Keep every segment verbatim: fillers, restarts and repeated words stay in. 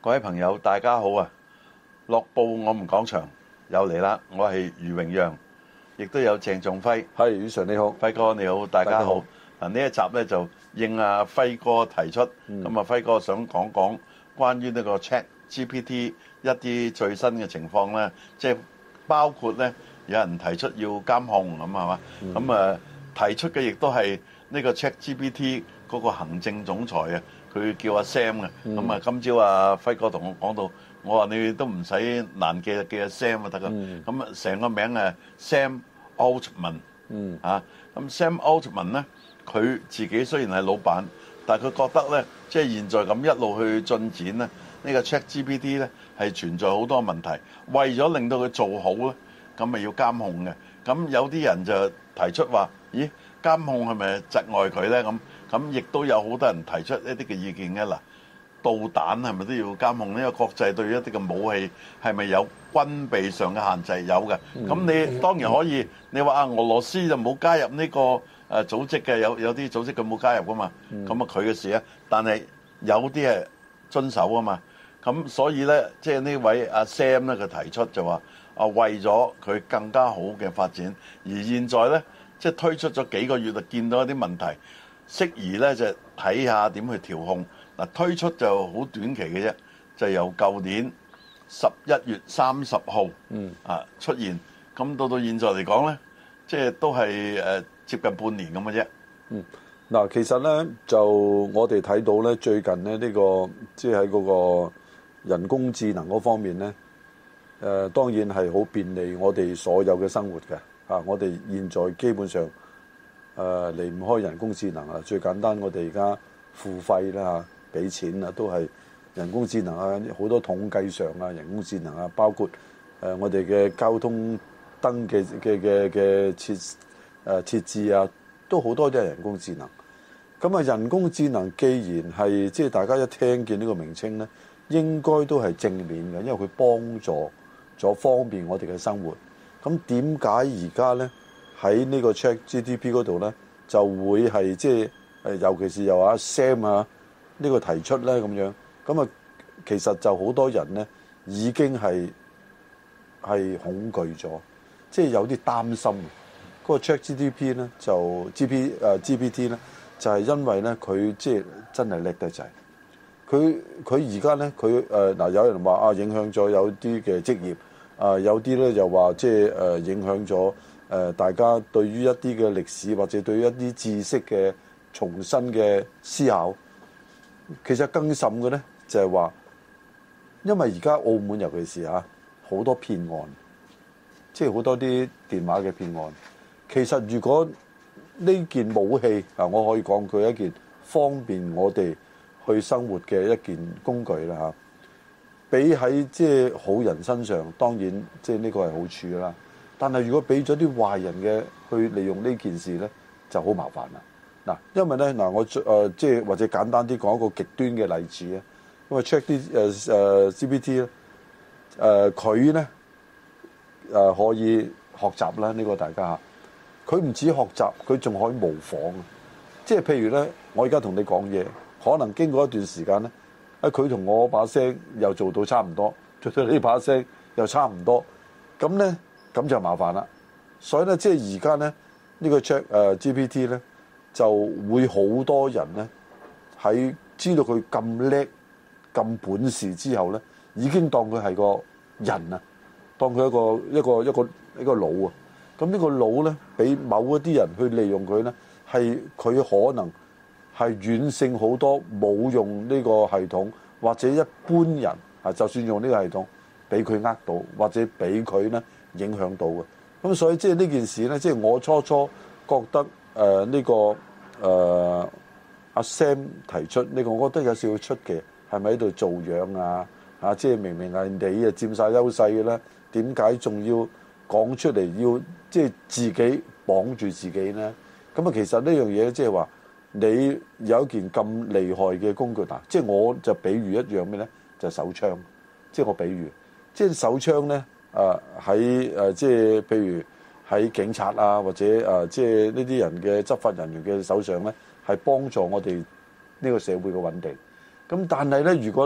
各位朋友，大家好啊！樂報我們講場又嚟啦，我係余榮讓，亦都有鄭仲輝。 係，余 Sir 你好， 輝哥你好，大家好。嗱呢一集咧就應阿輝哥提出，咁啊、嗯、輝哥想講講關於呢個 ChatGPT 一啲最新嘅情況咧，即係包括咧有人提出要監控咁係嘛，咁啊、嗯、提出嘅亦都係呢個 ChatGPT 嗰個行政總裁啊。佢叫阿 Sam 嘅，咁啊今朝阿輝哥同我講到，我話你都唔使難記，記阿 Sam 就得噶。咁啊成個名誒 Sam Altman，啊咁 Sam Altman 咧，佢自己雖然係老闆，但係佢覺得咧，即係現在咁一路去進展咧，呢個 ChatGPT 咧係存在好多問題，為咗令到佢做好咧，咁咪要監控嘅。咁有啲人就提出話，咦，監控係咪窒礙佢咧？咁咁亦都有好多人提出一啲嘅意見嘅。嗱，導彈係咪都要監控呢？因為國際對於一啲嘅武器係咪有軍備上嘅限制？有嘅。咁你當然可以，你話啊，俄羅斯就冇加入呢個誒組織嘅，有有啲組織佢冇加入噶嘛。咁啊佢嘅事啊，但係有啲係遵守啊嘛。咁所以咧，即係呢位阿 Sam 咧，佢提出就話啊，為咗佢更加好嘅發展，而現在咧，即係推出咗幾個月就見到一啲問題。適宜咧就睇下點去調控。嗱，推出就好短期嘅啫，就由舊年十一月三十號啊出現，咁到到現在嚟講咧，即係都係誒接近半年咁嘅啫。 嗯，嗱，其實咧就我哋睇到咧最近咧呢個即係喺嗰個人工智能嗰方面咧，誒當然係好便利我哋所有嘅生活嘅啊！我哋現在基本上，誒離唔開人工智能啊！最簡單，我哋而家付費啦嚇，俾錢啊，都係人工智能啊！好多統計上啊，人工智能啊，包括誒我哋嘅交通燈嘅嘅嘅嘅設誒設置啊，都好多都係人工智能。咁啊，人工智能既然係即係大家一聽見呢個名稱咧，應該都係正面嘅，因為佢幫助咗方便我哋嘅生活。咁點解而家咧？喺呢個 ChatGPT 嗰度咧，就會係即係誒，尤其是由阿 Sam 啊呢個提出咧咁樣，咁啊其實就好多人咧已經係係恐懼咗，即係有啲擔心。嗰個 ChatGPT 咧就 G P 誒 G P T 咧，就係因為咧佢即係真係叻得滯。佢佢而家咧佢誒嗱有人話啊影響咗有啲嘅職業啊，有啲咧就話即係誒影響咗。誒，大家對於一啲嘅歷史或者對於一啲知識嘅重新嘅思考，其實更甚嘅咧就係話，因為而家澳門尤其是嚇好多騙案，即係好多啲電話嘅騙案。其實如果呢件武器啊，我可以講佢一件方便我哋去生活嘅一件工具啦嚇，比喺即係好人身上，當然即係呢個係好處啦。但係如果俾咗啲壞人嘅去利用呢件事咧，就好麻煩啦。嗱，因為咧嗱，我誒即係或者簡單啲講一個極端嘅例子啊。因為 check 啲誒誒 G P T 咧，誒佢咧誒可以學習啦。呢個大家佢唔止學習，佢仲可以模仿。即係譬如咧，我而家同你講嘢，可能經過一段時間咧，啊佢同我把聲又做到差唔多，做到呢把聲又差唔多，咁咧。咁就麻煩啦，所以咧，即係而家咧，呢個 Chat 誒 G P T 咧，就會好多人咧喺知道佢咁叻、咁本事之後咧，已經當佢係個人啊，當佢一個一個一個一個腦啊。咁呢個腦咧，俾某一啲人去利用佢咧，係佢可能係遠勝好多冇用呢個系統或者一般人啊，就算用呢個系統，俾佢呃到或者俾佢咧。影響到嘅，咁所以即係呢件事咧，即係我初初覺得誒呢、呃呢個誒阿、呃、Sam 提出呢、呢個，我覺得有少少出奇，係咪喺度做樣啊？啊，即係明明係你啊佔晒優勢嘅咧，點解仲要講出嚟要即係自己綁住自己咧？咁啊，其實呢樣嘢即係話你有一件咁厲害嘅工具嗱，即係我就比喻一樣咩咧？就係、手槍，即係我比喻，即係手槍咧。誒喺誒即係譬如喺警察啊，或者誒即係呢啲人嘅執法人員嘅手上咧，係幫助我哋呢個社會嘅穩定。咁但係咧，如果呢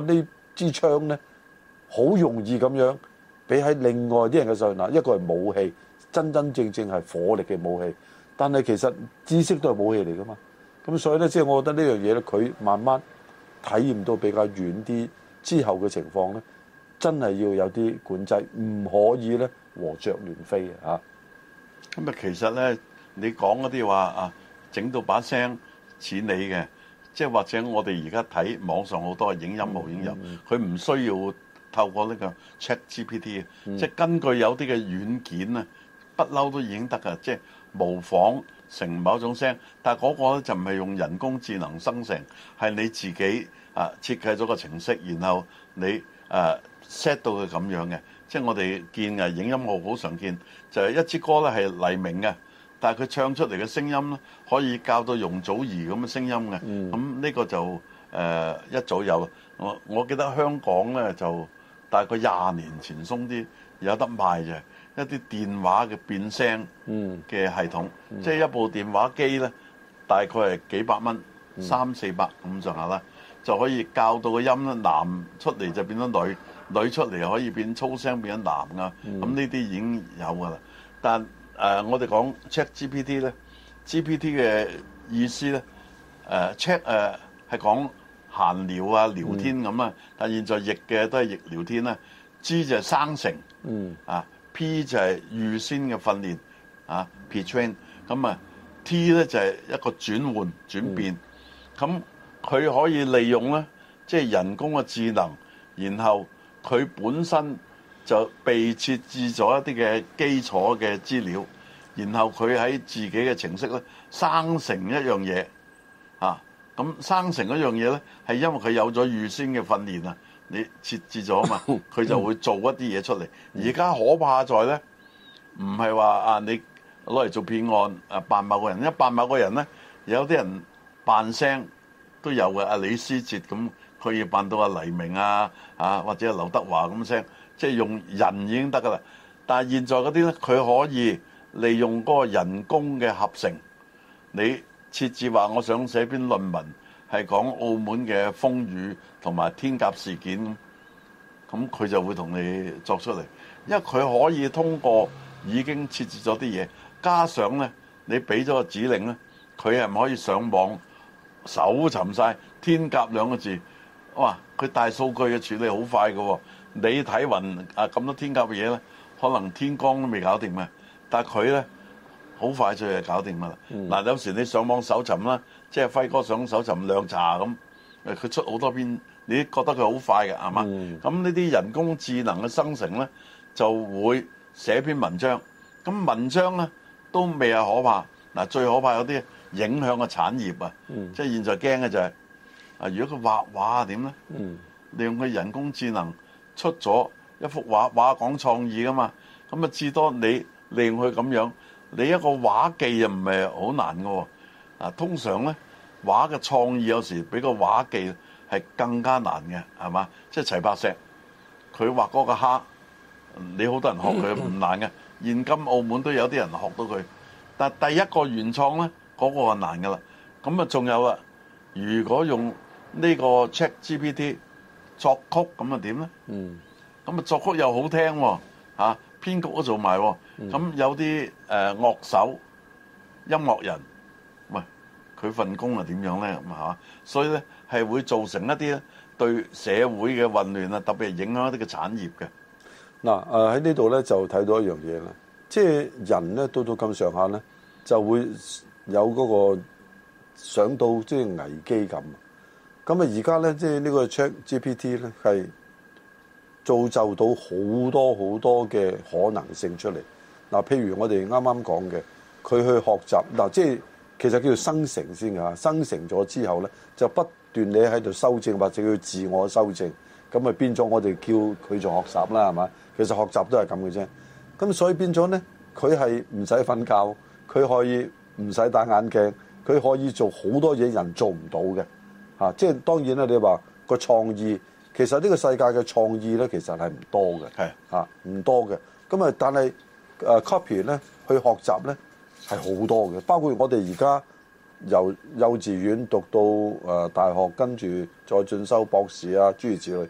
支槍咧，好容易咁樣俾喺另外啲人嘅手嗱，一個係武器，真真正正係火力嘅武器，但係其實知識都係武器嚟噶嘛。咁所以咧，即係我覺得呢樣嘢咧，佢慢慢體驗到比較遠啲之後嘅情況咧，真係要有啲管制，唔可以咧和著亂飛嘅嚇。 咁啊，其實咧，你講嗰啲話啊，整到把聲似你嘅，即係或者我哋而家睇網上好多影音無影音，佢唔、嗯、需要透過呢個 ChatGPT，、嗯、即係根據有啲嘅軟件啊，不嬲都已經得㗎，即係模仿成某種聲，但係嗰個咧就唔係用人工智能生成，係你自己啊設計咗個程式，然後你誒 set、啊、到佢咁樣嘅。即係我哋見嘅影音樂好常見，就係、是、一支歌咧係黎明嘅，但係佢唱出嚟嘅聲音咧可以教到容祖兒咁嘅聲音嘅。咁呢、嗯、個就誒、呃、一早有。我我記得香港咧就大概廿年前鬆啲有得賣嘅一啲電話嘅變聲嘅系統，嗯嗯、即係一部電話機咧大概係幾百蚊，嗯、三四百咁上下啦，就可以教到個音咧男出嚟就變咗女。女出嚟可以變粗聲變咗男噶，咁呢啲已經有噶啦。但誒、呃，我哋講 ChatGPT 咧 ，G P T 嘅意思咧，誒、呃、Chat 誒係講閒聊啊、聊天咁啊。嗯、但現在譯嘅都係譯聊天啦。G 就係生成，嗯啊 P 就係預先嘅訓練啊 pre-train。咁啊 T 咧就係一個轉換轉變。咁佢、嗯、可以利用咧，即係人工嘅智能，然後佢本身就被設置咗一啲嘅基礎嘅資料，然後佢喺自己嘅程式咧生成一樣嘢，啊，咁生成一樣嘢咧係因為佢有咗預先嘅訓練啊，你設置咗啊嘛，佢就會做一啲嘢出嚟。而家可怕在咧，唔係話啊你攞嚟做騙案啊扮某個人，一扮某個人咧，有啲人扮聲都有嘅，阿李思捷咁。佢要扮到阿黎明啊，啊或者劉德華咁聲，即係用人已經得噶啦。但係現在嗰啲咧，佢可以利用嗰個人工嘅合成，你設置話我想寫篇論文係講澳門嘅風雨同埋天鴿事件，咁佢就會同你作出嚟，因為佢可以通過已經設置咗啲嘢，加上咧你俾咗個指令咧，佢係唔可以上網搜尋晒天鴿兩個字。哇！佢大數據嘅處理好快嘅喎，你睇雲啊咁多天鴿嘅嘢咧，可能天光都未搞掂嘅，但係佢咧好快就係搞掂㗎啦。嗱、嗯，有時你上網搜尋啦，即係輝哥想搜尋涼茶咁，誒佢出好多篇，你覺得佢好快嘅係嘛？咁呢啲人工智能嘅生成咧，就會寫篇文章。咁文章咧都未係可怕，嗱最可怕有啲影響嘅產業啊，嗯、即係現在驚嘅就係、是。啊！如果佢畫畫點咧？嗯，利用佢人工智能出咗一幅畫，畫講創意噶嘛。咁啊，至多你利用佢咁樣，你一個畫技又唔係好難嘅喎。啊，通常咧畫嘅創意有時比個畫技係更加難嘅，係嘛？即係齊白石，佢畫嗰個蝦，你好多人學佢唔難嘅。現今澳門都有啲人學到佢，但係第一個原創咧，嗰、嗰個係難㗎啦。咁啊，仲有啊，如果用呢個 ChatGPT 作曲咁啊點咧？嗯，咁啊作曲又好聽喎，嚇編曲都做埋喎。咁有啲誒樂手、音樂人，喂佢份工係點樣咧？咁嚇，所以咧係會造成一啲咧對社會嘅混亂啊，特別係影響一啲嘅產業嘅。 嗱誒喺呢度咧就睇到一樣嘢啦，即係人咧到到咁上下咧就會有嗰個想到即係危機感。咁啊，而家咧，即係呢個 ChatGPT 咧，係造就到好多好多嘅可能性出嚟。嗱，譬如我哋啱啱講嘅，佢去學習嗱，即係其實叫做生成先㗎。生成咗之後咧，就不斷你喺度修正或者叫自我修正，咁啊變咗我哋叫佢做學習啦，係嘛？其實學習都係咁嘅啫。咁所以變咗咧，佢係唔使瞓覺，佢可以唔使戴眼鏡，佢可以做好多嘢人做唔到嘅。啊，即係當然啦！你話個創意，其實呢個世界嘅創意咧，其實係唔多嘅，係啊，唔多嘅。咁啊，但係誒 copy 咧，去學習咧係好多嘅。包括我哋而家由幼稚園讀到誒大學，跟住再進修博士啊，諸如此類。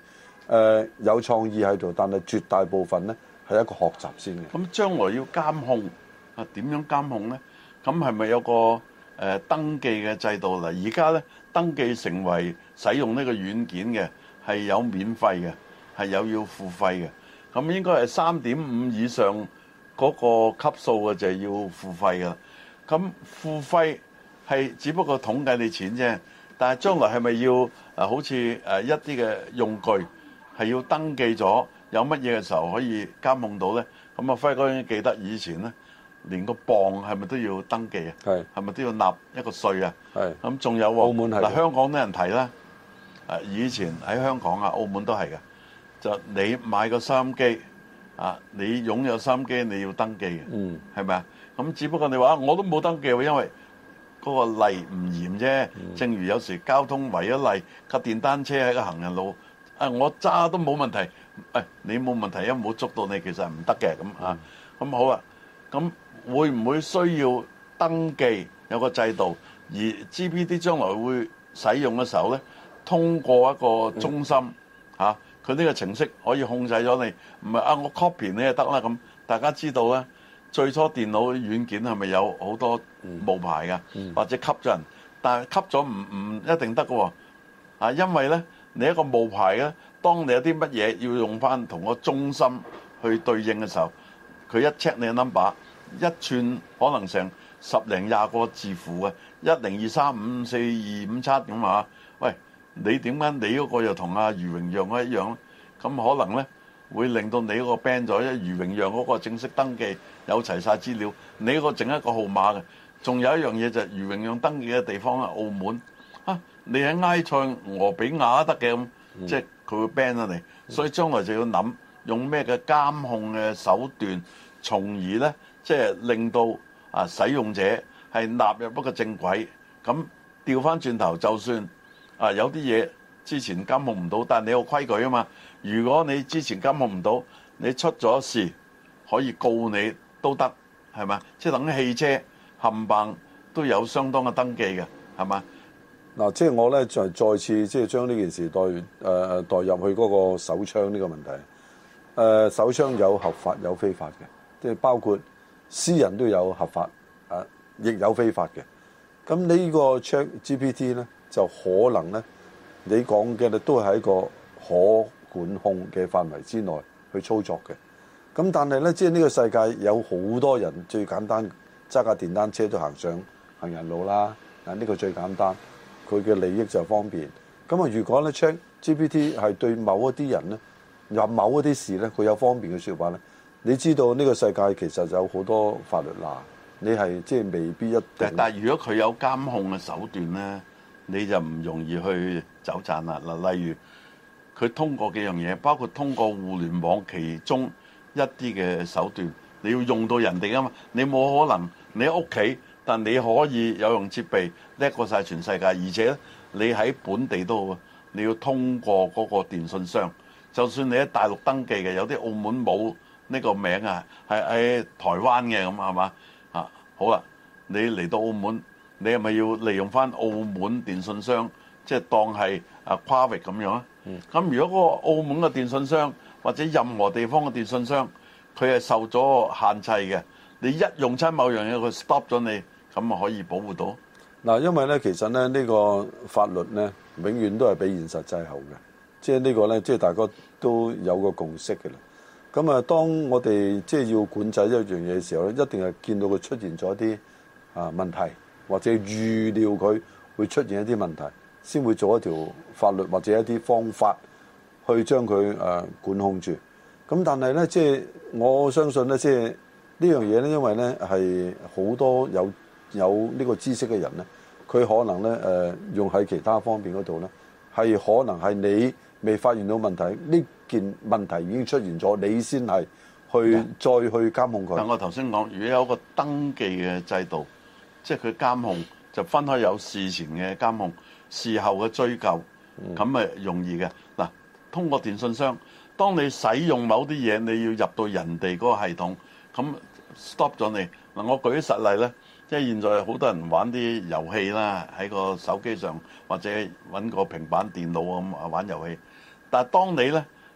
呃、有創意喺度，但係絕大部分咧係一個學習先嘅。 咁將來要監控啊，點樣監控咧？咁係咪有個誒、呃、登記嘅制度？嗱，而家咧登記成為使用呢個軟件嘅係有免費嘅，係有要付費嘅。咁應該係三點五以上嗰個級數嘅就係要付費㗎。咁付費係只不過統計你錢啫，但係將來係咪要誒好似誒一啲嘅用具係要登記咗，有乜嘢嘅時候可以監控到咧？咁啊，輝哥應該記得以前咧，連個磅係咪都要登記啊？係係咪都要納一個稅啊？係咁仲有喎，澳門係嗱，香港啲人提啦，誒以前喺香港啊、澳門都係嘅，就你買個收音機啊，你擁有收音機你要登記嘅，嗯，係咪啊？咁只不過你話我都冇登記喎，因為嗰個例唔嚴啫。正如有時交通違咗例，架電單車喺個行人路，啊我揸都冇問題，誒你冇問題，因為冇捉到你，其實係唔得嘅咁啊。咁好啊，咁會唔會需要登記有個制度？而 G P T 將來會使用嘅時候咧，通過一個中心嚇，佢呢個程式可以控制咗你，唔係啊我 copy 你就得啦咁。大家知道咧。最初電腦軟件係咪有好多冒牌㗎、嗯嗯？或者吸咗人，但係吸咗唔唔一定得㗎喎。啊，因為咧，你一個冒牌咧，當你有啲乜嘢要用翻同個中心去對應嘅時候，佢一 check 你嘅 number， 一串可能成十零廿個字符嘅，一零二三五四二五七咁啊。喂，你點解你嗰個又同阿余榮陽一樣咧？咁可能咧？會令到你嗰個 ban 咗，因為余榮陽嗰個正式登記有齊晒資料，你嗰個整一個號碼嘅。仲有一樣嘢就係余榮陽登記嘅地方啊，澳門啊，你喺埃塞俄比亞得嘅咁，即係佢會 ban 咗你。所以將來就要諗用咩嘅監控嘅手段，從而咧即係令到啊使用者係納入一個正軌。咁調翻轉頭，就算啊有啲嘢之前監控唔到，但係你有規矩啊嘛。如果你之前監控唔到，你出咗事可以告你都得，係嘛？即係等於汽車冚唪都有相當嘅登記嘅，係嘛？ 嗱，即係我咧就再次即係將呢件事代誒、呃、代入去嗰個手槍呢個問題。誒、呃、手槍有合法有非法嘅，即係包括私人都有合法，誒、啊、亦有非法嘅。咁呢個 ChatGPT 咧就可能咧，你講嘅咧都係一個可管控嘅範圍之內去操作嘅，咁但係咧，即係呢個世界有好多人最簡單揸架電單車都行上行人路啦，啊呢個最簡單，佢嘅利益就方便。咁啊，如果咧 ChatGPT 係對某一啲人咧，有某一啲事咧，佢有方便嘅説話咧，你知道呢個世界其實有好多法律嗱，你係即係未必一定。 但係如果佢有監控嘅手段咧，你就唔容易去走賺啦。嗱，例如。佢通過幾樣嘢，包括通過互聯網其中一啲嘅手段，你要用到人哋啊嘛，你冇可能你喺屋企，但你可以有用設備叻過晒全世界，而且你喺本地都好，你要通過嗰個電信商，就算你喺大陸登記嘅，有啲澳門冇呢個名啊，係喺台灣嘅咁係嘛啊？好啦，你嚟到澳門，你係咪要利用翻澳門電信商，即係當係啊跨域咁樣啊？咁如果嗰個澳門嘅電信商或者任何地方嘅電信商，佢係受咗限制嘅，你一用親某樣嘢，佢 stop 咗你，咁啊可以保護到？ 嗱，因為咧，其實咧呢個法律咧，永遠都係比現實滯後嘅，即係呢個咧，即係大家都有個共識嘅啦。咁啊，當我哋即係要管制一樣嘢嘅時候咧，一定係見到佢出現咗啲啊問題，或者預料佢會出現一啲問題。先會做一條法律或者一啲方法去將佢誒管控住。咁但係咧，即係我相信咧，即係呢樣嘢咧，因為咧係好多有有呢個知識嘅人咧，佢可能咧誒用喺其他方面嗰度咧，係可能係你未發現到問題，呢件問題已經出現咗，你先係去再去監控佢。 但我頭先講，如果有一個登記嘅制度，即係佢監控就分開有事前嘅監控。事後嘅追究，咁咪容易嘅嗱。通過電信商，當你使用某啲嘢，你要入到人哋嗰個系統，咁 stop 咗你嗱。我舉啲實例咧，即係現在好多人玩啲遊戲啦，喺個手機上或者揾個平板電腦咁啊玩遊戲。但係當你咧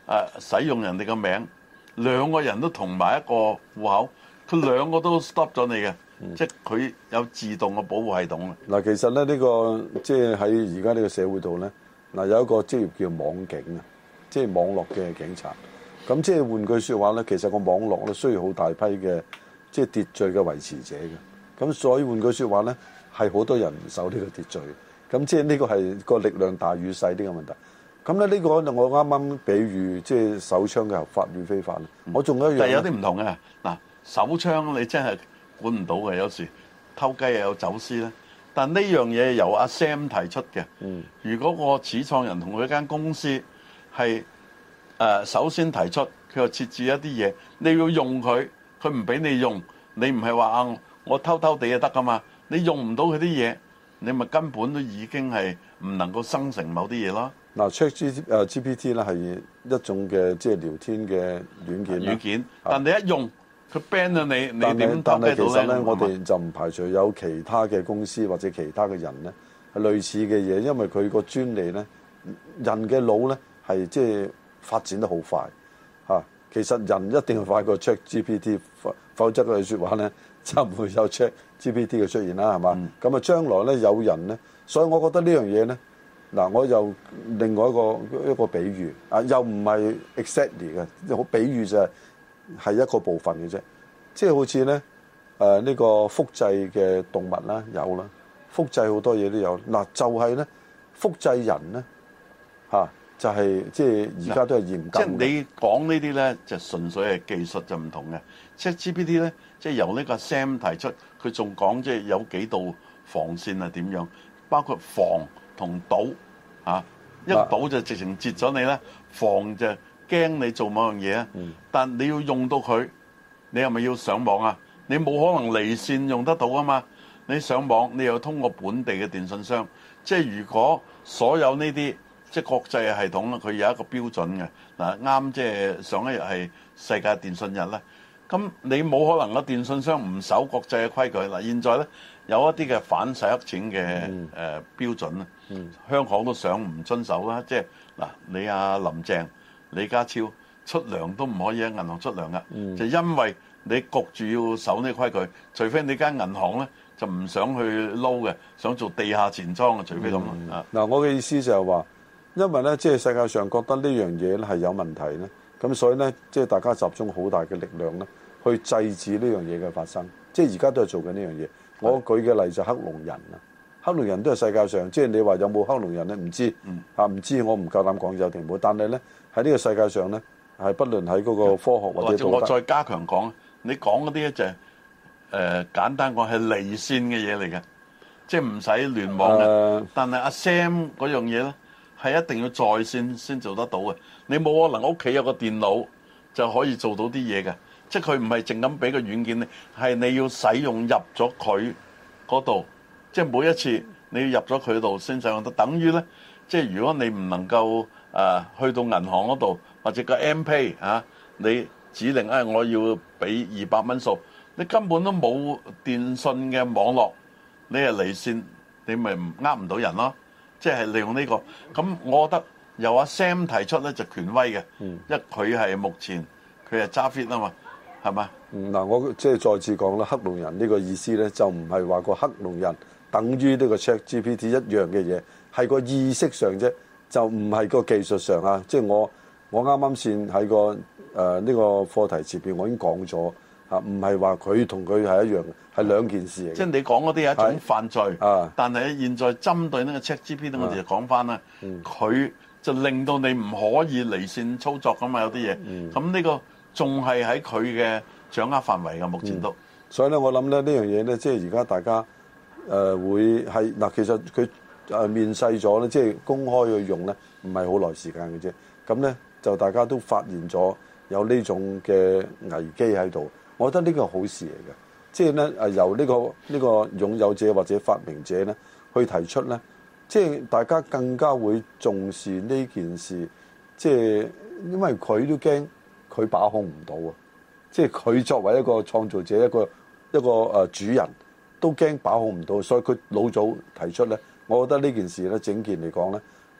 啊使用人哋嘅名，兩個人都同埋一個戶口，佢兩個都 stop 咗你嘅，嗯、即係佢有自動嘅保護系統啊。 嗱，其實咧呢、呢個即係喺而家呢個社會度咧，嗱有一個職業叫網警啊，即係網絡嘅警察。咁即係換句説話咧，其實個網絡咧需要好大批嘅即係秩序嘅維持者嘅。咁所以換句説話咧，係好多人唔守呢個秩序。咁即係呢個係個力量大與細呢個問題。咁咧呢個我啱啱比喻即係手槍嘅合法與非法咧。嗯、我仲有一樣， 但係有啲唔同嘅嗱，手槍你真係管唔到嘅，有時偷雞又有走私咧。但呢樣嘢由阿 Sam 提出嘅。嗯、如果個始創人同佢間公司係誒首先提出，佢又設置一啲嘢，你要用佢，佢唔俾你用，你唔係話啊我偷偷地就得噶嘛？你用唔到佢啲嘢，你咪根本都已經係唔能夠生成某啲嘢咯。 嗱 ，Chat G P T 咧係一種嘅即係聊天嘅軟件。 軟件，但你一用佢 ban 咗你，你點但係其實咧， 呢我哋就唔排除有其他嘅公司或者其他嘅人咧係類似嘅嘢，因為佢個專利咧，人嘅腦咧係即係發展得好快嚇。其實人一定係快過 Chat G P T，否則嘅説話咧就唔會有 Chat G P T 嘅出現啦，係嘛？咁啊、嗯，將來咧有人咧，所以我覺得呢樣嘢咧。嗱，我又另外一個一個比喻啊，又唔係 exactly 嘅，好比喻就係係一個部分嘅啫。即係好似咧誒呢個複製嘅動物啦，有啦，複製好多嘢都有。嗱，就係咧複製人咧嚇，就係即係而家都係嚴禁。 即係你講呢啲咧，就純粹係技術就唔同嘅。即係 G P T 咧，即係由呢個 Sam 提出，佢仲講即係有幾道防線係點樣，包括防同堵。啊！一倒就直情截咗你啦，防就驚你做某樣嘢啊。嗯、但你要用到佢，你係咪要上網啊？你冇可能離線用得到啊嘛！你上網，你又通過本地嘅電信商。即係如果所有呢啲即係國際嘅系統咧，佢有一個標準嘅嗱，啱即係上一日係世界電信日啦。咁你冇可能個電信商唔守國際嘅規矩嗱。現在咧有一啲嘅反洗黑錢嘅誒、嗯呃、標準啊。嗯、香港都想唔遵守啦，即係嗱，你阿林鄭、李家超出糧都唔可以喺銀行出糧噶，嗯、就因為你焗住要守呢個規矩，除非你間銀行咧就唔想去撈嘅，想做地下錢莊嘅，除非咁啊。嗱、 嗯，嗯、我嘅意思就係話，因為咧即係世界上覺得呢樣嘢咧係有問題咧，咁所以咧即係大家集中好大嘅力量咧去制止呢樣嘢嘅發生，即係而家都係做緊呢樣嘢。我舉嘅例就係黑龍人啊。黑龍人都係世界上，即係你話有冇黑龍人咧？唔知嚇，唔、嗯、知我唔夠膽講有定冇。但係咧喺呢個世界上咧，係不論喺嗰個科學或者道德， 我再加強講，你講嗰啲咧就係、是、誒、呃、簡單講係離線嘅嘢嚟嘅，即係唔使聯網嘅。呃、但係阿 Sam 嗰樣嘢咧係一定要在線先做得到嘅。你冇可能屋企有個電腦就可以做到啲嘢嘅，即係佢唔係淨咁俾個軟件你，係你要使用入咗佢嗰度。即係每一次你要入咗佢度先使用得，等於咧，即係如果你唔能夠誒、呃、去到銀行嗰度或者個 M Pay 啊，你指令誒、哎、我要俾二百蚊數，你根本都冇電信嘅網絡，你係離線，你咪唔呃唔到人咯。即係利用呢、這個，咁我覺得由阿 Sam 提出咧就權威嘅，嗯、因為佢係目前佢係揸 fit 啊嘛，係嘛？ 嗯，嗱，我即係再次講啦，黑龍人呢個意思咧就唔係話個黑龍人。等於呢個 Chat G P T 一樣嘅嘢，係個意識上啫，就唔係個技術上啊！即係我我啱啱先喺個誒呢個課題前邊，我已經講咗嚇，唔係話佢同佢係一樣，係兩件事嚟。 即係你講嗰啲係一種犯罪，啊、但係現在針對呢個 Chat G P T，我哋就講翻啦，佢、嗯、就令到你唔可以離線操作噶嘛，有啲嘢。咁呢、嗯、個仲係喺佢嘅掌握範圍嘅，目前都。嗯、所以咧，我諗咧呢樣嘢咧，即係而家大家。誒、呃、會係嗱，其實佢誒面世咗咧，即係公開去用咧，唔係好耐時間嘅啫。咁咧就大家都發現咗有呢種嘅危機喺度，我覺得呢個係好事嚟嘅。即係咧誒由呢個呢個擁有者或者發明者咧去提出咧，即係大家更加會重視呢件事。即係因為佢都驚佢把控唔到啊！即係佢作為一個創造者，一個一個誒主人。都驚把控唔到，所以佢老早提出咧，我覺得呢件事咧，整件嚟講咧，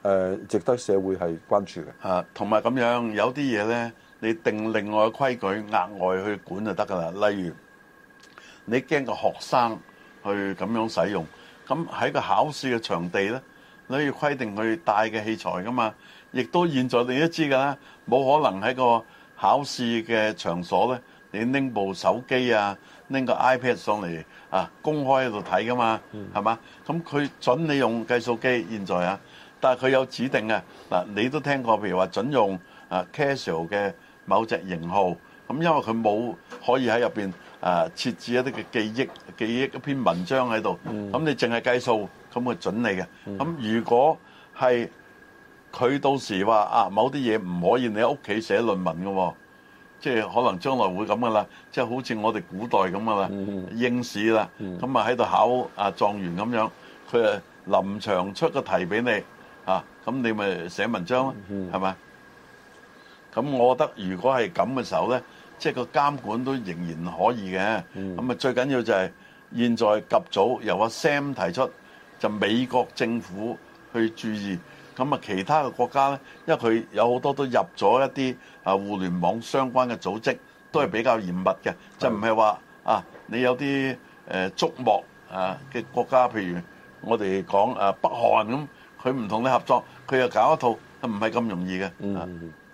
呃、值得社會係關注嘅。 啊，同埋咁樣有啲嘢咧，你定另外嘅規矩，額外去管就得㗎啦。例如你驚個學生去咁樣使用，咁喺個考試嘅場地咧，你要規定佢帶嘅器材㗎嘛。亦都現在你都知㗎啦，冇可能喺個考試嘅場所咧，你拎部手機啊，拎個 iPad 上嚟啊，公開喺度睇㗎嘛，係嘛？咁佢準你用計數機，現在啊，但係佢有指定嘅嗱，你都聽過，譬如話準用啊 Casio 嘅某隻型號，咁因為佢冇可以喺入邊啊設置一啲嘅記憶記憶一篇文章喺度，咁、嗯、你淨係計數，咁佢準你嘅。咁、嗯、如果係佢到時話啊，某啲嘢唔可以你喺屋企寫論文嘅喎，即係可能將來會咁噶啦，即係好似我哋古代咁噶啦，應試啦，咁啊喺度考啊狀元咁樣，佢啊臨場出個題俾你啊，咁你咪寫文章咯，係咪？咁我覺得如果係咁嘅時候咧，即係個監管都仍然可以嘅。咁啊最緊要就係現在及早由阿 Sam 提出，就美國政府去注意。咁啊，其他嘅國家咧，因為佢有好多都入咗一啲啊互聯網相關嘅組織，都係比較嚴密嘅，就唔係話啊你有啲誒矚目啊嘅國家，譬如我哋講啊北韓咁，佢唔同你合作，佢又搞一套，唔係咁容易嘅。嗯。